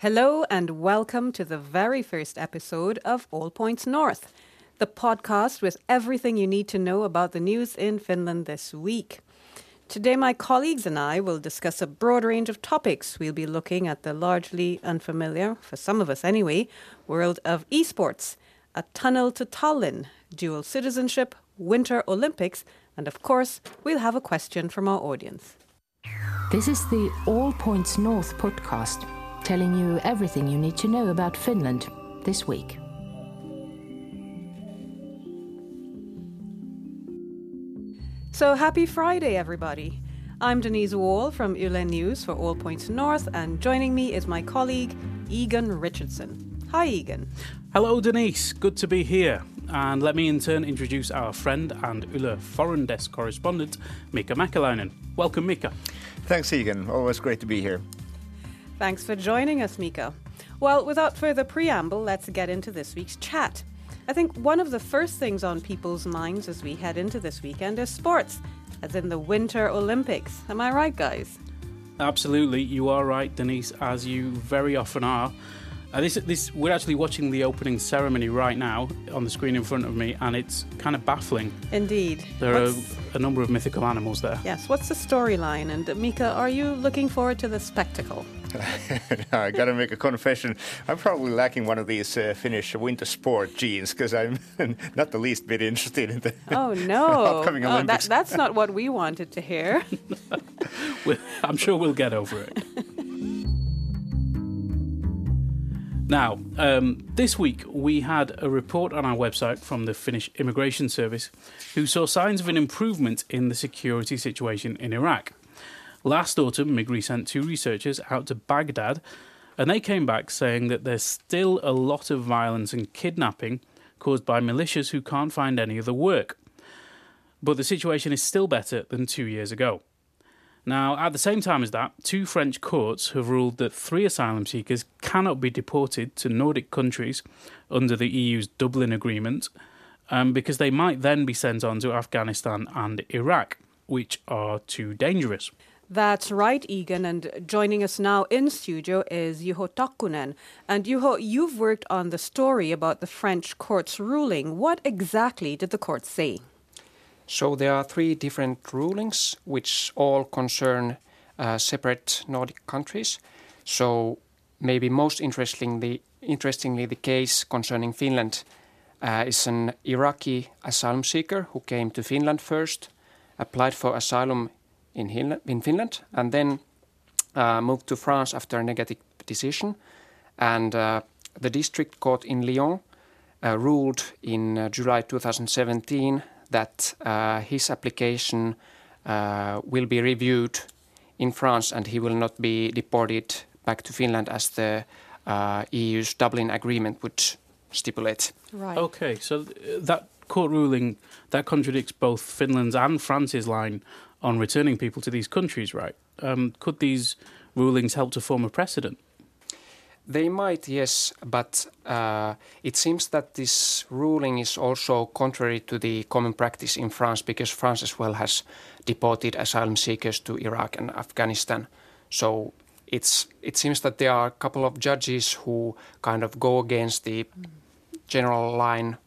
Hello and welcome to the very first episode of All Points North, the podcast with everything you need to know about the news in Finland this week. Today my colleagues and I will discuss a broad range of topics. We'll be looking at the largely unfamiliar, for some of us anyway, world of esports, a tunnel to Tallinn, dual citizenship, Winter Olympics, and of course, we'll have a question from our audience. This is the All Points North podcast, telling you everything you need to know about Finland this week. So happy Friday, everybody. I'm Denise Wall from Yle News for All Points North, and joining me is my colleague, Egan Richardson. Hi, Egan. Hello, Denise. Good to be here. And let me in turn introduce our friend and Yle Foreign Desk correspondent, Mika Mäkeläinen. Welcome, Mika. Thanks, Egan. Always great to be here. Thanks for joining us, Mika. Well, without further preamble, let's get into this week's chat. I think one of the first things on people's minds as we head into this weekend is sports, as in the Winter Olympics. Am I right, guys? Absolutely, you are right, Denise, as you very often are. We're actually watching the opening ceremony right now on the screen in front of me, and it's kind of baffling. Indeed. There are a number of mythical animals there. Yes, what's the storyline? And Mika, are you looking forward to the spectacle? I got to make a confession. I'm probably lacking one of these Finnish winter sport genes because I'm not the least bit interested in the upcoming Olympics. That's not what we wanted to hear. I'm sure we'll get over it. Now, this week we had a report on our website from the Finnish Immigration Service who saw signs of an improvement in the security situation in Iraq. Last autumn, Migri sent 2 researchers out to Baghdad, and they came back saying that there's still a lot of violence and kidnapping caused by militias who can't find any other work. But the situation is still better than 2 years ago. Now, at the same time as that, 2 French courts have ruled that 3 asylum seekers cannot be deported to Nordic countries under the EU's Dublin Agreement because they might then be sent on to Afghanistan and Iraq, which are too dangerous. That's right, Egan, and joining us now in studio is Juho Takkunen. And Juho, you've worked on the story about the French court's ruling. What exactly did the court say? So there are 3 different rulings which all concern separate Nordic countries. So maybe most interestingly the case concerning Finland is an Iraqi asylum seeker who came to Finland first, applied for asylum in Finland, and then moved to France after a negative decision. And the district court in Lyon ruled in July 2017 that his application will be reviewed in France and he will not be deported back to Finland as the EU's Dublin Agreement would stipulate. Right. Okay, so that court ruling, that contradicts both Finland's and France's line on returning people to these countries, right? Could these rulings help to form a precedent? They might, yes, but it seems that this ruling is also contrary to the common practice in France because France as well has deported asylum seekers to Iraq and Afghanistan. So it seems that there are a couple of judges who kind of go against the general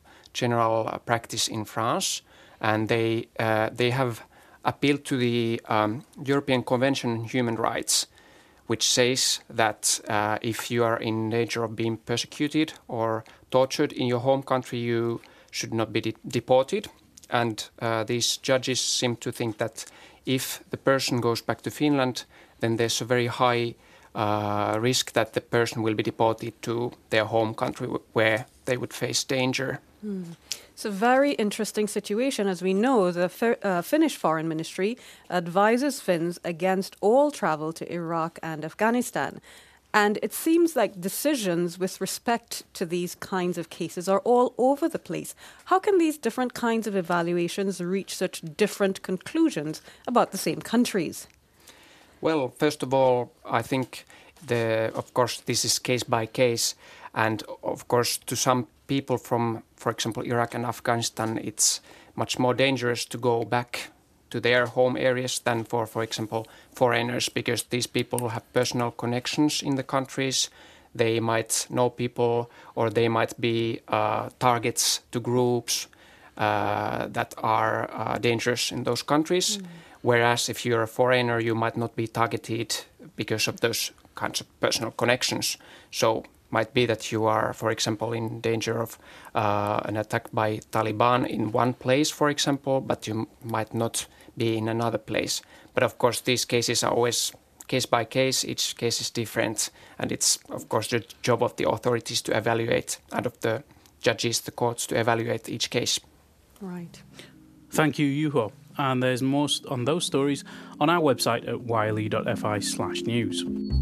practice in France, and they have appealed to the European Convention on Human Rights, which says that if you are in danger of being persecuted or tortured in your home country, you should not be deported. And these judges seem to think that if the person goes back to Finland, then there's a very high risk that the person will be deported to their home country where they would face danger. It's a very interesting situation. As we know, the Finnish Foreign Ministry advises Finns against all travel to Iraq and Afghanistan. And it seems like decisions with respect to these kinds of cases are all over the place. How can these different kinds of evaluations reach such different conclusions about the same countries? Well, first of all, I think, of course, this is case by case. And of course, to some people from, for example, Iraq and Afghanistan, it's much more dangerous to go back to their home areas than for example, foreigners, because these people have personal connections in the countries. they might know people, or they might be targets to groups that are dangerous in those countries. Whereas if you're a foreigner, you might not be targeted because of those kinds of personal connections. So might be that you are, for example, in danger of an attack by Taliban in one place, for example, but you might not be in another place. But of course, these cases are always case by case. Each case is different. And it's, of course, the job of the authorities to evaluate, and of the judges, the courts, to evaluate each case. Right. Thank you, Juho. And there's more on those stories on our website at yle.fi/news.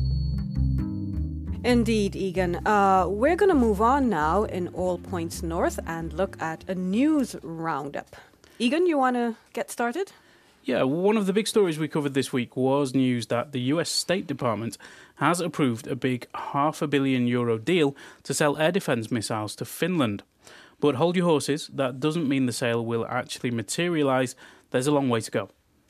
Indeed, Egan. We're going to move on now in All Points North and look at a news roundup. Egan, you want to get started? Yeah, one of the big stories we covered this week was news that the US State Department has approved a big €500 million deal to sell air defence missiles to Finland. But hold your horses, that doesn't mean the sale will actually materialise. There's a long way to go.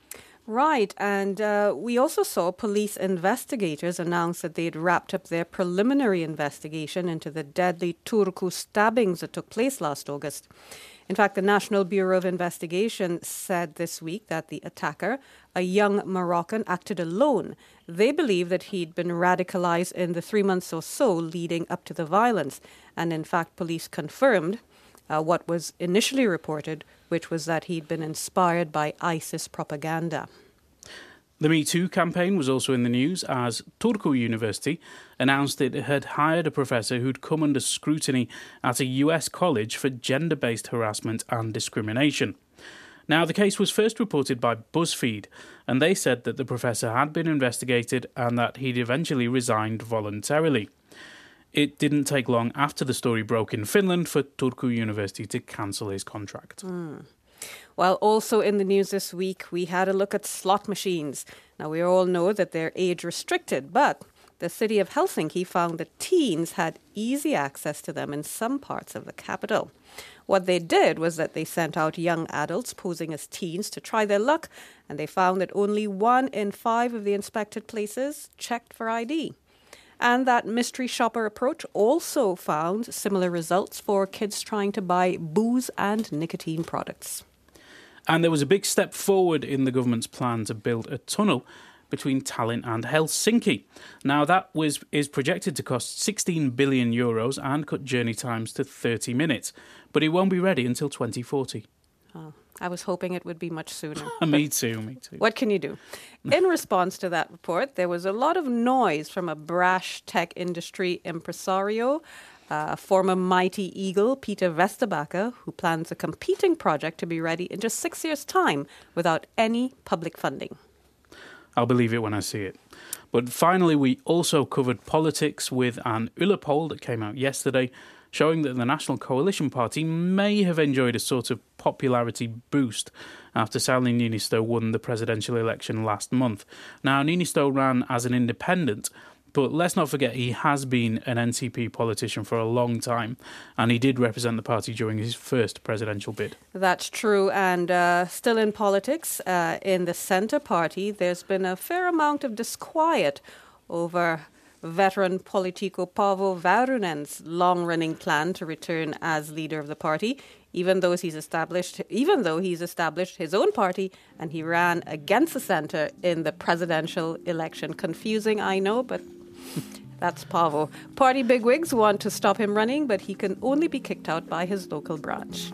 Right, and we also saw police investigators announce that they'd wrapped up their preliminary investigation into the deadly Turku stabbings that took place last August. In fact, the National Bureau of Investigation said this week that the attacker, a young Moroccan, acted alone. They believe that he'd been radicalised in the 3 months or so leading up to the violence. And in fact, police confirmed what was initially reported, which was that he'd been inspired by ISIS propaganda. The Me Too campaign was also in the news as Turku University announced it had hired a professor who'd come under scrutiny at a US college for gender-based harassment and discrimination. Now, the case was first reported by BuzzFeed, and they said that the professor had been investigated and that he'd eventually resigned voluntarily. It didn't take long after the story broke in Finland for Turku University to cancel his contract. Well, also in the news this week, we had a look at slot machines. Now, we all know that they're age-restricted, but the city of Helsinki found that teens had easy access to them in some parts of the capital. What they did was that they sent out young adults posing as teens to try their luck, and they found that only 1 in 5 of the inspected places checked for ID. And that mystery shopper approach also found similar results for kids trying to buy booze and nicotine products. And there was a big step forward in the government's plan to build a tunnel between Tallinn and Helsinki. Now, that is projected to cost €16 billion and cut journey times to 30 minutes. But it won't be ready until 2040. Oh, I was hoping it would be much sooner. Me too. What can you do? In response to that report, there was a lot of noise from a brash tech industry impresario, former Mighty Eagle, Peter Westerbacher, who plans a competing project to be ready in just 6 years' time without any public funding. I'll believe it when I see it. But finally, we also covered politics with an Yle poll that came out yesterday, showing that the National Coalition Party may have enjoyed a sort of popularity boost after Sauli Niinistö won the presidential election last month. Now, Niinistö ran as an independent, but let's not forget he has been an NCP politician for a long time, and he did represent the party during his first presidential bid. That's true, and still in politics, in the Centre Party, there's been a fair amount of disquiet over veteran Politico Paavo Väyrynen's long-running plan to return as leader of the party, even though he's established his own party and he ran against the centre in the presidential election. Confusing, I know, but that's Paavo. Party bigwigs want to stop him running, but he can only be kicked out by his local branch.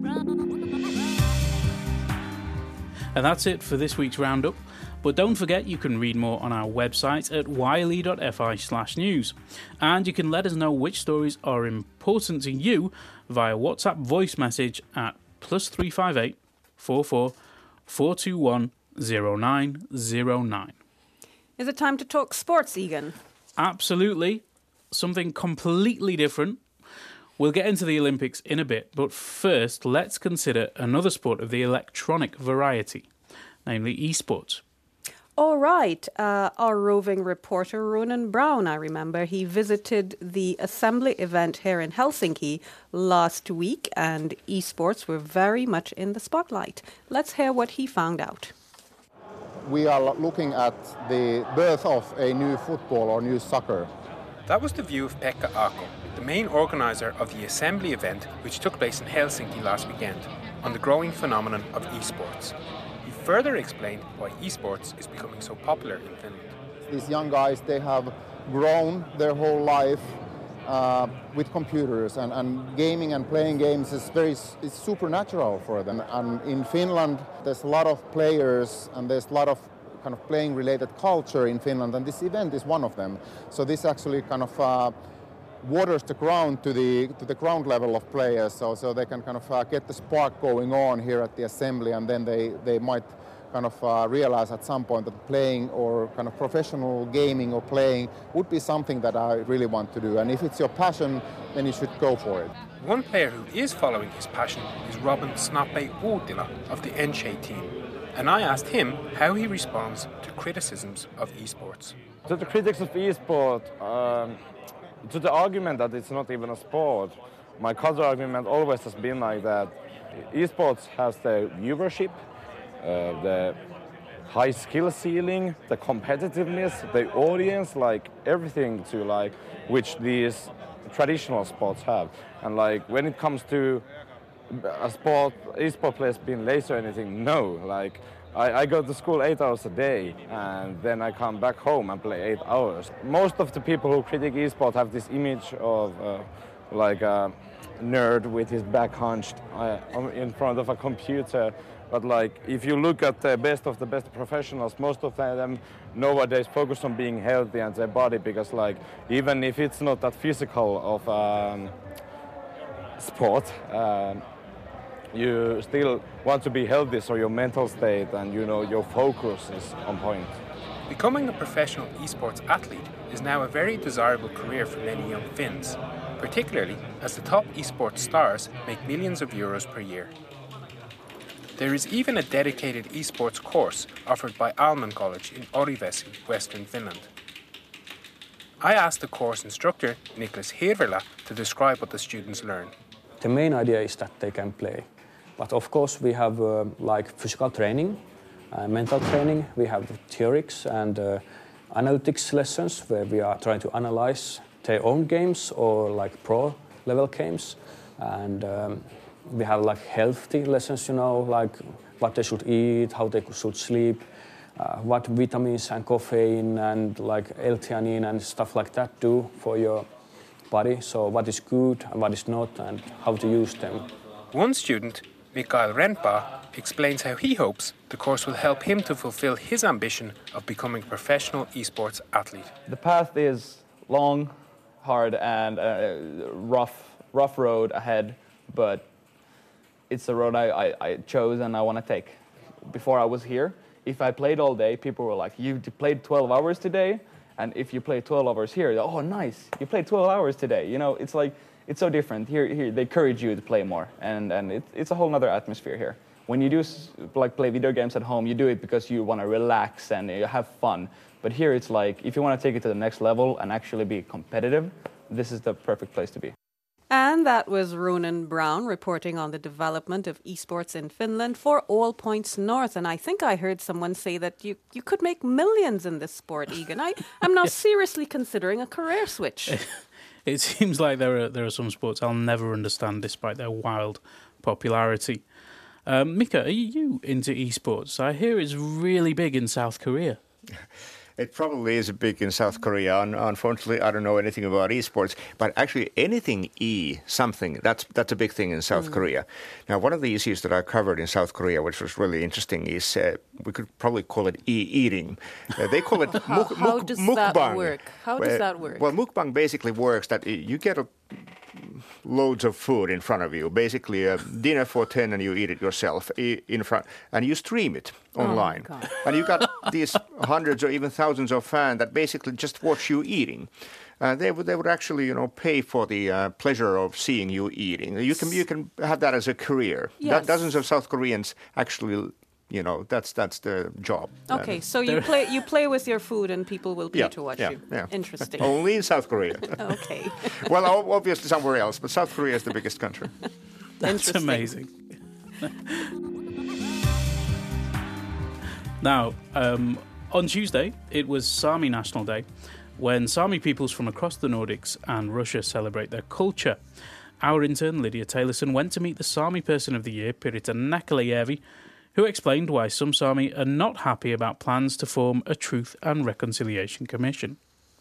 And that's it for this week's roundup. But don't forget you can read more on our website at yle.fi/news. And you can let us know which stories are important to you via WhatsApp voice message at +358 44 421 0909. Is it time to talk sports, Egan? Absolutely. Something completely different. We'll get into the Olympics in a bit, but first let's consider another sport of the electronic variety, namely esports. All right. Our roving reporter, Ronan Brown, I remember, he visited the assembly event here in Helsinki last week, and esports were very much in the spotlight. Let's hear what he found out. We are looking at the birth of a new football or new soccer. That was the view of Pekka Aako, the main organiser of the Assembly event which took place in Helsinki last weekend, on the growing phenomenon of esports. He further explained why esports is becoming so popular in Finland. These young guys, they have grown their whole life with computers, and gaming and playing games is supernatural for them. And in Finland, there's a lot of players and there's a lot of kind of playing related culture in Finland, and this event is one of them. So this actually kind of waters the ground to the ground level of players, so they can kind of get the spark going on here at the Assembly, and then they might kind of realize at some point that playing or kind of professional gaming or playing would be something that I really want to do. And if it's your passion, then you should go for it. One player who is following his passion is Robin Snape Uutila of the Enche team. And I asked him how he responds to criticisms of esports. To the critics of esport, to the argument that it's not even a sport, my counter argument always has been like that. Esports has the viewership, the high skill ceiling, the competitiveness, the audience, like everything to like which these traditional sports have. And like when it comes to a sport, esport players being lazy or anything, no. Like I go to school 8 hours a day and then I come back home and play 8 hours. Most of the people who critique esport have this image of like a nerd with his back hunched in front of a computer. But like if you look at the best of the best professionals, most of them nowadays focus on being healthy and their body, because like even if it's not that physical of sport, you still want to be healthy, so your mental state and your focus is on point. Becoming a professional esports athlete is now a very desirable career for many young Finns, particularly as the top esports stars make millions of euros per year. There is even a dedicated esports course offered by Alman College in Orivesi, Western Finland. I asked the course instructor, Niklas Hirvelä, to describe what the students learn. The main idea is that they can play. But of course we have like physical training, mental training, we have theorics and analytics lessons where we are trying to analyze their own games or like pro level games. And we have like healthy lessons, like what they should eat, how they should sleep, what vitamins and caffeine and like L-theanine and stuff like that do for your body. So what is good and what is not and how to use them. One student, Mikael Renpa, explains how he hopes the course will help him to fulfill his ambition of becoming a professional esports athlete. The path is long, hard and rough road ahead, but it's the road I chose and I want to take. Before I was here, if I played all day, people were like, you played 12 hours today? And if you play 12 hours here, oh, nice, you played 12 hours today. It's like, it's so different. Here they encourage you to play more. And it's a whole other atmosphere here. When you do like play video games at home, you do it because you want to relax and you have fun. But here it's like, if you want to take it to the next level and actually be competitive, this is the perfect place to be. And that was Ronan Brown reporting on the development of esports in Finland for All Points North. And I think I heard someone say that you could make millions in this sport, Egan. I'm now seriously considering a career switch. It seems like there are some sports I'll never understand despite their wild popularity. Mika, are you into esports? I hear it's really big in South Korea. It probably is big in South Korea. Unfortunately, I don't know anything about esports, but actually anything something, that's a big thing in South Korea. Now, one of the issues that I covered in South Korea, which was really interesting, is we could probably call it eating. They call it mukbang. How does that work? How does that work? Well, mukbang basically works that you get loads of food in front of you, basically a dinner for 10 and you eat it yourself in front, and you stream it online. And you got these hundreds or even thousands of fans that basically just watch you eating. They would actually, pay for the pleasure of seeing you eating. You can have that as a career. Yes. Dozens of South Koreans actually, that's the job. Okay, so you play with your food and people will pay to watch you. Yeah. Interesting. Only in South Korea. Okay. Well, obviously somewhere else, but South Korea is the biggest country. That's amazing. Now, on Tuesday, it was Sami National Day, when Sami peoples from across the Nordics and Russia celebrate their culture. Our intern, Lydia Taylorson, went to meet the Sami Person of the Year, Pirita Näkkäläjärvi, who explained why some Sami are not happy about plans to form a Truth and Reconciliation Commission.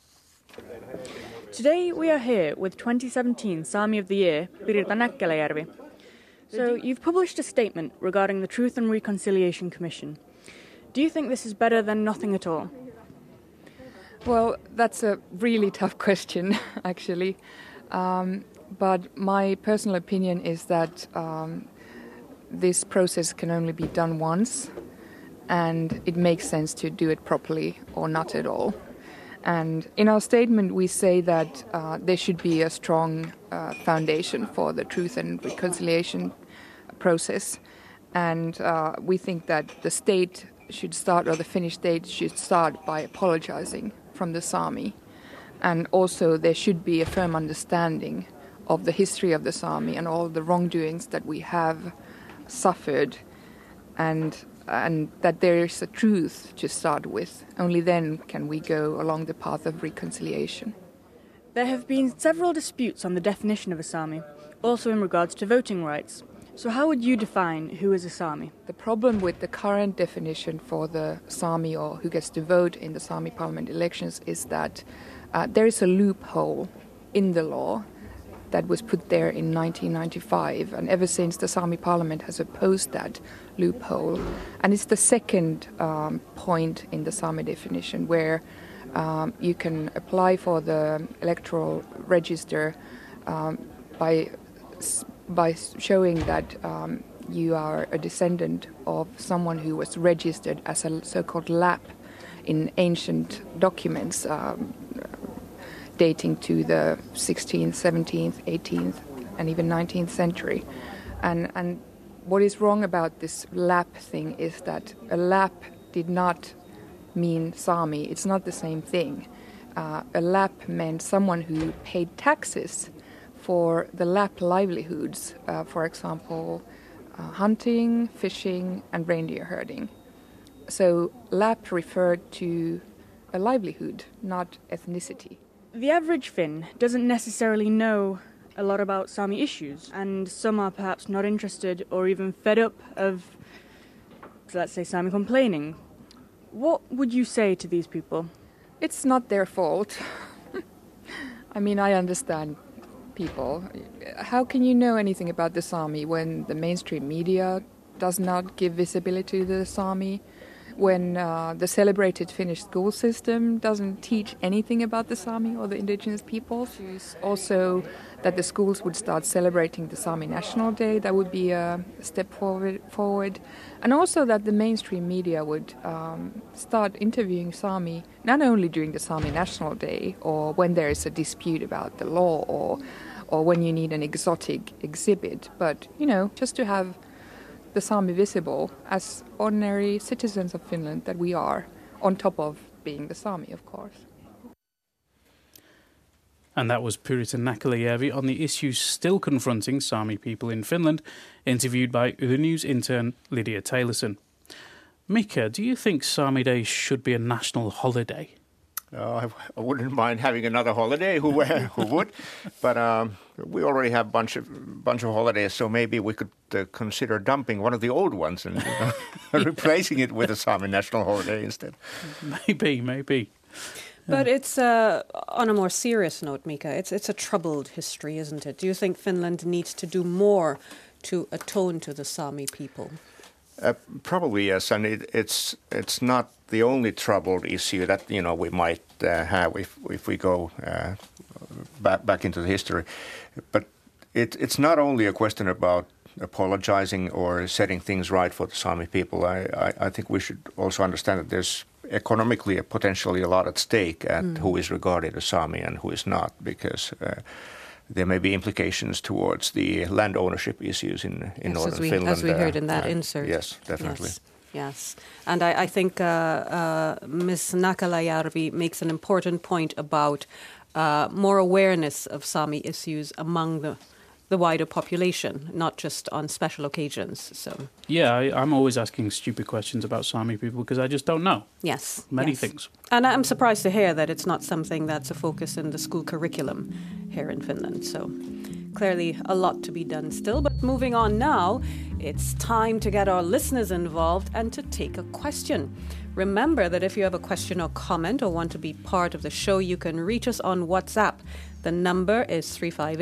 Today we are here with 2017 Sami of the Year, Pirita Näkkäläjärvi. So you've published a statement regarding the Truth and Reconciliation Commission. Do you think this is better than nothing at all? Well, that's a really tough question, actually. But my personal opinion is that this process can only be done once, and it makes sense to do it properly or not at all. And in our statement, we say that there should be a strong foundation for the Truth and Reconciliation process. And we think that the state should start, or the Finnish state should start by apologizing from the Sami. And also there should be a firm understanding of the history of the Sami and all the wrongdoings that we have suffered, and that there is a truth to start with. Only then can we go along the path of reconciliation. There have been several disputes on the definition of a Sami, also in regards to voting rights. So how would you define who is a Sami? The problem with the current definition for the Sami, or who gets to vote in the Sami parliament elections, is that there is a loophole in the law that was put there in 1995, and ever since the Sami parliament has opposed that loophole. And it's the second point in the Sami definition where you can apply for the electoral register by showing that you are a descendant of someone who was registered as a so-called Lapp in ancient documents dating to the 16th, 17th, 18th, and even 19th century. And what is wrong about this Lapp thing is that a Lapp did not mean Sami. It's not the same thing. A Lapp meant someone who paid taxes for the Lapp livelihoods, for example, hunting, fishing, and reindeer herding. So Lapp referred to a livelihood, not ethnicity. The average Finn doesn't necessarily know a lot about Sami issues, and some are perhaps not interested or even fed up of, let's say, Sami complaining. What would you say to these people? It's not their fault. I mean, I understand people. How can you know anything about the Sami when the mainstream media does not give visibility to the Sami? When the celebrated Finnish school system doesn't teach anything about the Sami or the indigenous peoples. Also, that the schools would start celebrating the Sami National Day, that would be a step forward. And also that the mainstream media would start interviewing Sami, not only during the Sami National Day or when there is a dispute about the law or when you need an exotic exhibit, but, you know, just to have the Sami visible as ordinary citizens of Finland that we are, on top of being the Sami, of course. And that was Pirita Näkkäläjärvi on the issues still confronting Sami people in Finland, interviewed by Yle News intern Lydia Taylorson. Mika, do you think Sami Day should be a national holiday? I wouldn't mind having another holiday. Who would? But we already have a bunch of holidays, so maybe we could consider dumping one of the old ones and replacing it with a Sami national holiday instead. Maybe. But it's on a more serious note, Mika. It's a troubled history, isn't it? Do you think Finland needs to do more to atone to the Sami people? Probably yes, and it's not the only troubled issue that we might have if we go back into the history, but it's not only a question about apologizing or setting things right for the Sami people. I think we should also understand that there's economically potentially a lot at stake at who is regarded as Sami and who is not, because there may be implications towards the land ownership issues in northern Finland. As we heard in that insert. Yes, definitely. Yes. And I think Ms. Näkkäläjärvi makes an important point about more awareness of Sami issues among the wider population, not just on special occasions. So yeah, I'm always asking stupid questions about Sami people because I just don't know. Yes. Many things. And I'm surprised to hear that it's not something that's a focus in the school curriculum here in Finland. So clearly a lot to be done still. But moving on now, it's time to get our listeners involved and to take a question. Remember that if you have a question or comment or want to be part of the show, you can reach us on WhatsApp. The number is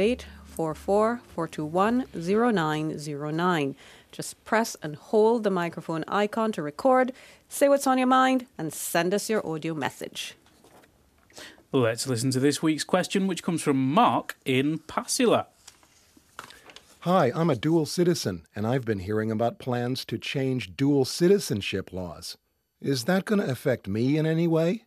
358-44-421-0909. Just press and hold the microphone icon to record, say what's on your mind, and send us your audio message. Let's listen to this week's question, which comes from Mark in Pasila. Hi, I'm a dual citizen, and I've been hearing about plans to change dual citizenship laws. Is that going to affect me in any way?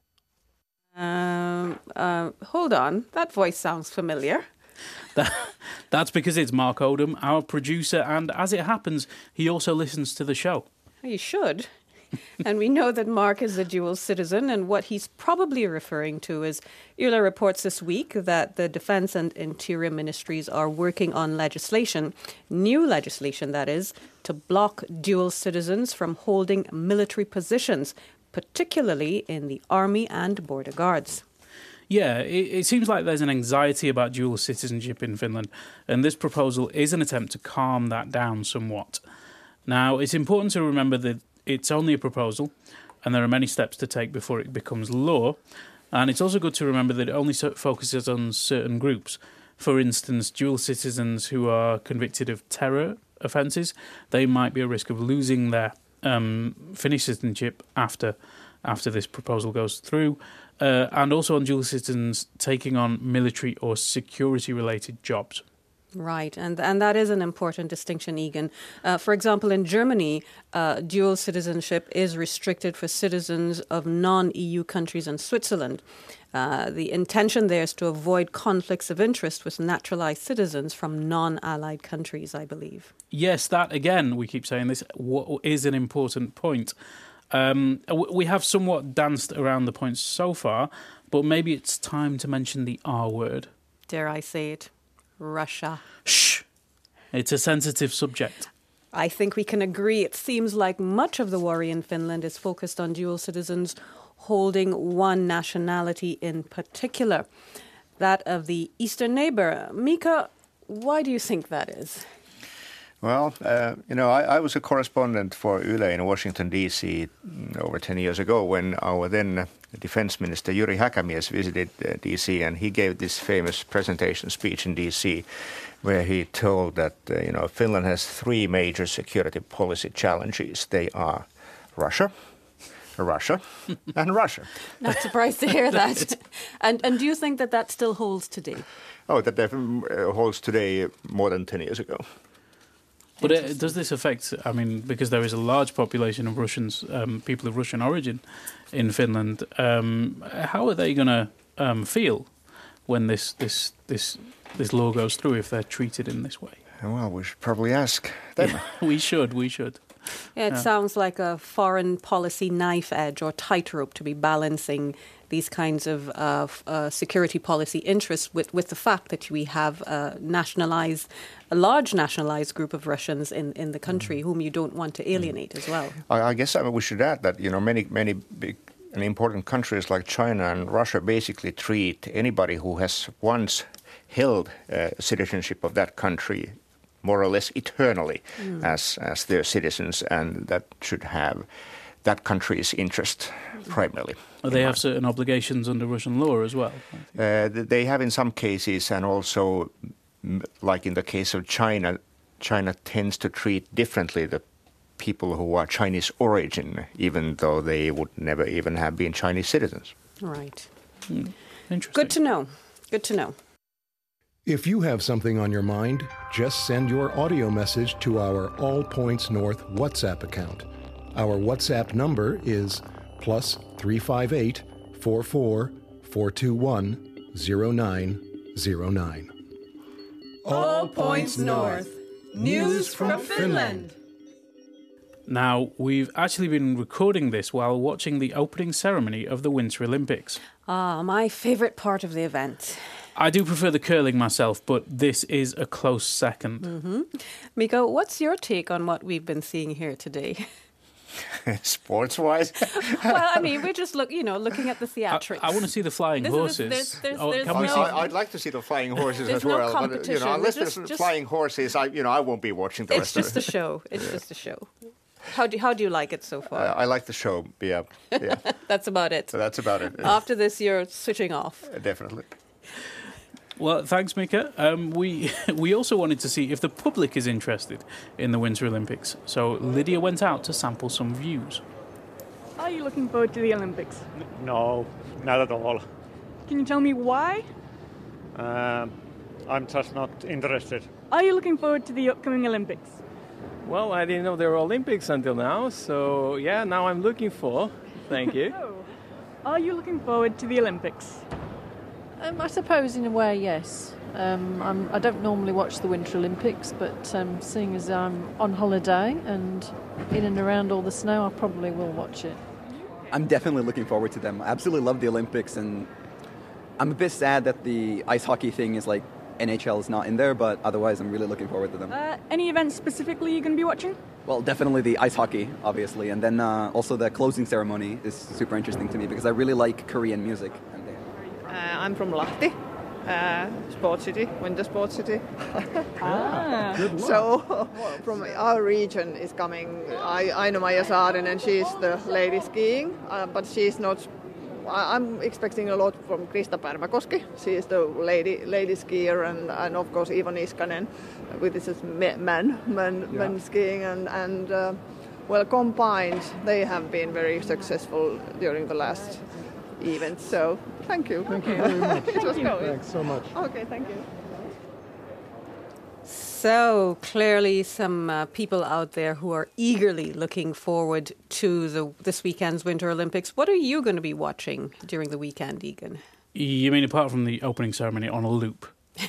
Hold on. That voice sounds familiar. That's because it's Mark Odom, our producer, and as it happens, he also listens to the show. You should. And we know that Mark is a dual citizen, and what he's probably referring to is Yle reports this week that the Defence and Interior Ministries are working on legislation, new legislation that is, to block dual citizens from holding military positions, particularly in the Army and Border Guards. Yeah, it seems like there's an anxiety about dual citizenship in Finland, and this proposal is an attempt to calm that down somewhat. Now, it's important to remember that it's only a proposal, and there are many steps to take before it becomes law. And it's also good to remember that it only focuses on certain groups. For instance, dual citizens who are convicted of terror offences, they might be at risk of losing their Finnish citizenship after this proposal goes through. And also on dual citizens taking on military or security-related jobs. Right, and that is an important distinction, Egan. For example, in Germany, dual citizenship is restricted for citizens of non-EU countries and Switzerland. The intention there is to avoid conflicts of interest with naturalized citizens from non-allied countries, I believe. Yes, that, again, we keep saying this, is an important point. We have somewhat danced around the points so far, but maybe it's time to mention the R word. Dare I say it? Russia. Shh! It's a sensitive subject. I think we can agree. It seems like much of the worry in Finland is focused on dual citizens holding one nationality in particular, that of the eastern neighbour. Mika, why do you think that is? Well, I was a correspondent for Yle in Washington, D.C. Over 10 years ago when our then Defense Minister Jyri Häkämies visited D.C. and he gave this famous presentation speech in D.C. where he told that, Finland has three major security policy challenges. They are Russia, and Russia. Not surprised to hear that. And do you think that still holds today? Oh, that definitely holds today more than 10 years ago. But does this affect, because there is a large population of Russians, people of Russian origin in Finland, how are they going to feel when this law goes through if they're treated in this way? Well, we should probably ask them. We should. Yeah, it sounds like a foreign policy knife edge or tightrope to be balancing these kinds of security policy interests with the fact that we have a large nationalized group of Russians in the country whom you don't want to alienate as well. I guess we should add that many big and important countries like China and Russia basically treat anybody who has once held citizenship of that country more or less eternally as their citizens, and that should have that country's interest primarily. They have certain obligations under Russian law as well. They have in some cases, and also, like in the case of China, China tends to treat differently the people who are Chinese origin, even though they would never even have been Chinese citizens. Right. Interesting. Good to know. Good to know. If you have something on your mind, just send your audio message to our All Points North WhatsApp account. Our WhatsApp number is +358 44 421 0909. All Points North. News from Finland. Now, we've actually been recording this while watching the opening ceremony of the Winter Olympics. My favourite part of the event. I do prefer the curling myself, but this is a close second. Mm-hmm. Mika, what's your take on what we've been seeing here today? Sports-wise? Well, I mean, we're just looking at the theatrics. I want to see the flying horses. I'd like to see the flying horses as well. But unless there's flying horses, I won't be watching the rest of it. It's just a show. It's just a show. How do you like it so far? I like the show. Yeah. That's about it. So that's about it. After this, you're switching off. Definitely. Well, thanks, Mika. We also wanted to see if the public is interested in the Winter Olympics. So Lydia went out to sample some views. Are you looking forward to the Olympics? No, not at all. Can you tell me why? I'm just not interested. Are you looking forward to the upcoming Olympics? Well, I didn't know there were Olympics until now, so yeah, now I'm looking for. Thank you. Are you looking forward to the Olympics? I suppose in a way, yes. I don't normally watch the Winter Olympics, but seeing as I'm on holiday and in and around all the snow, I probably will watch it. I'm definitely looking forward to them. I absolutely love the Olympics, and I'm a bit sad that the ice hockey thing is like NHL is not in there, but otherwise I'm really looking forward to them. Any events specifically you're going to be watching? Well, definitely the ice hockey, obviously, and then also the closing ceremony is super interesting to me because I really like Korean music. I'm from Lahti, Sports City, Winter Sports City. Good luck. So from our region is coming Aino-Maija Saarinen, she's the lady skiing, but she's not. I'm expecting a lot from Krista Pärmäkoski. She is the lady skier, and of course Ivo Niskanen, with this men skiing, and well combined, they have been very successful during the last event. So thank you. Thank you very much. It was going. Thanks so much. Okay, thank you. So clearly some people out there who are eagerly looking forward to this weekend's Winter Olympics. What are you going to be watching during the weekend, Egan? You mean apart from the opening ceremony on a loop?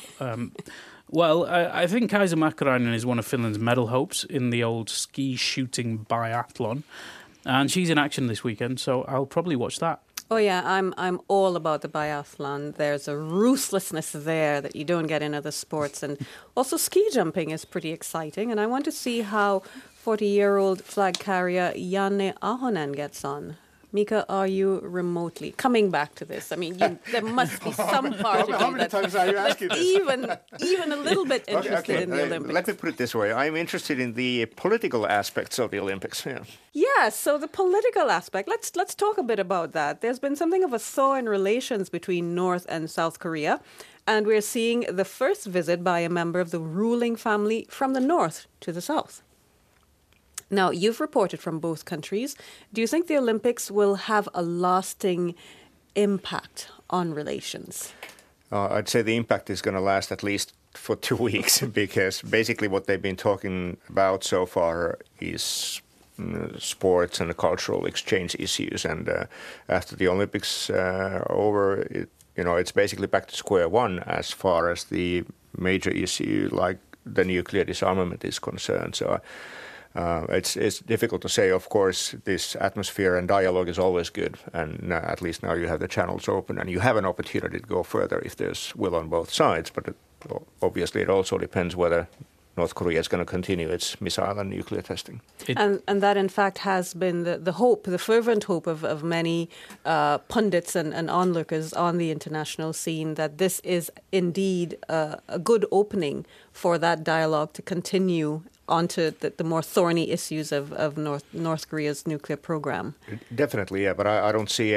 Well, I think Kaisa Mäkäräinen is one of Finland's medal hopes in the old ski shooting biathlon. And she's in action this weekend, so I'll probably watch that. Oh yeah, I'm all about the biathlon. There's a ruthlessness there that you don't get in other sports, and also ski jumping is pretty exciting. And I want to see how 40-year-old flag carrier Janne Ahonen gets on. Mika, are you remotely coming back to this? I mean, there must be some part of you that's even a little bit interested in the Olympics. Let me put it this way. I'm interested in the political aspects of the Olympics. Yeah, so the political aspect, let's talk a bit about that. There's been something of a thaw in relations between North and South Korea, and we're seeing the first visit by a member of the ruling family from the North to the South. Now, you've reported from both countries. Do you think the Olympics will have a lasting impact on relations? I'd say the impact is going to last at least for 2 weeks because basically what they've been talking about so far is sports and cultural exchange issues. And after the Olympics over, it's basically back to square one as far as the major issue like the nuclear disarmament is concerned. So it's difficult to say. Of course, this atmosphere and dialogue is always good, and at least now you have the channels open, and you have an opportunity to go further if there's will on both sides. But obviously, it also depends whether North Korea is going to continue its missile and nuclear testing. And that, in fact, has been the fervent hope of many pundits and onlookers on the international scene, that this is indeed a good opening for that dialogue to continue onto the more thorny issues of North Korea's nuclear program. Definitely, yeah, but I don't see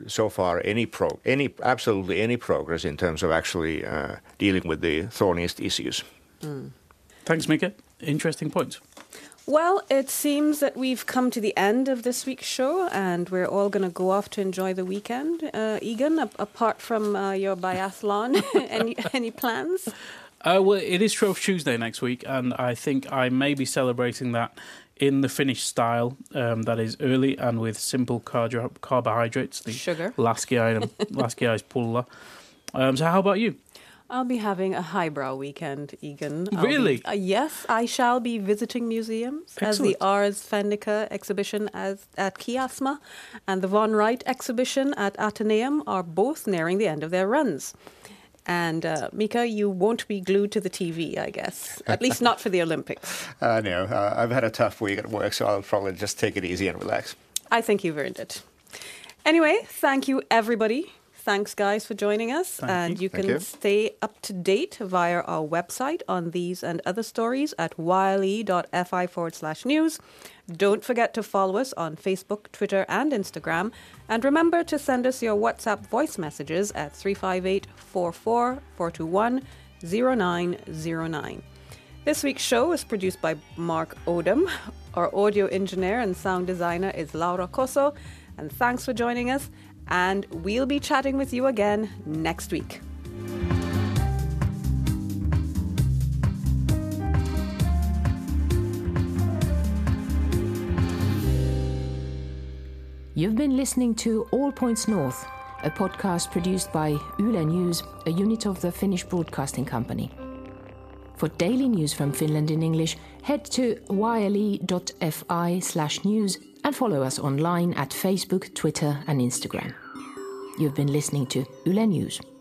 absolutely any progress in terms of actually dealing with the thorniest issues. Mm. Thanks, Mika. Interesting points. Well, it seems that we've come to the end of this week's show, and we're all going to go off to enjoy the weekend. Egan, apart from your biathlon, any plans? Well, it is Shrove Tuesday next week, and I think I may be celebrating that in the Finnish style, that is early and with simple carbohydrates. The sugar. Laskiaispulla. So how about you? I'll be having a highbrow weekend, Egan. Really? Yes, I shall be visiting museums. Excellent. As the Ars Fennica exhibition at Kiasma and the Von Wright exhibition at Atheneum are both nearing the end of their runs. And Mika, you won't be glued to the TV, I guess. At least not for the Olympics. No, I've had a tough week at work, so I'll probably just take it easy and relax. I think you've earned it. Anyway, thank you, everybody. Thanks, guys, for joining us. You can stay up to date via our website on these and other stories at yle.fi/news. Don't forget to follow us on Facebook, Twitter, and Instagram. And remember to send us your WhatsApp voice messages at 358-44-421-0909. This week's show is produced by Mark Odom. Our audio engineer and sound designer is Laura Cosso. And thanks for joining us. And we'll be chatting with you again next week. You've been listening to All Points North, a podcast produced by Yle News, a unit of the Finnish Broadcasting Company. For daily news from Finland in English, head to yle.fi/news and follow us online at Facebook, Twitter and Instagram. You've been listening to Yle News.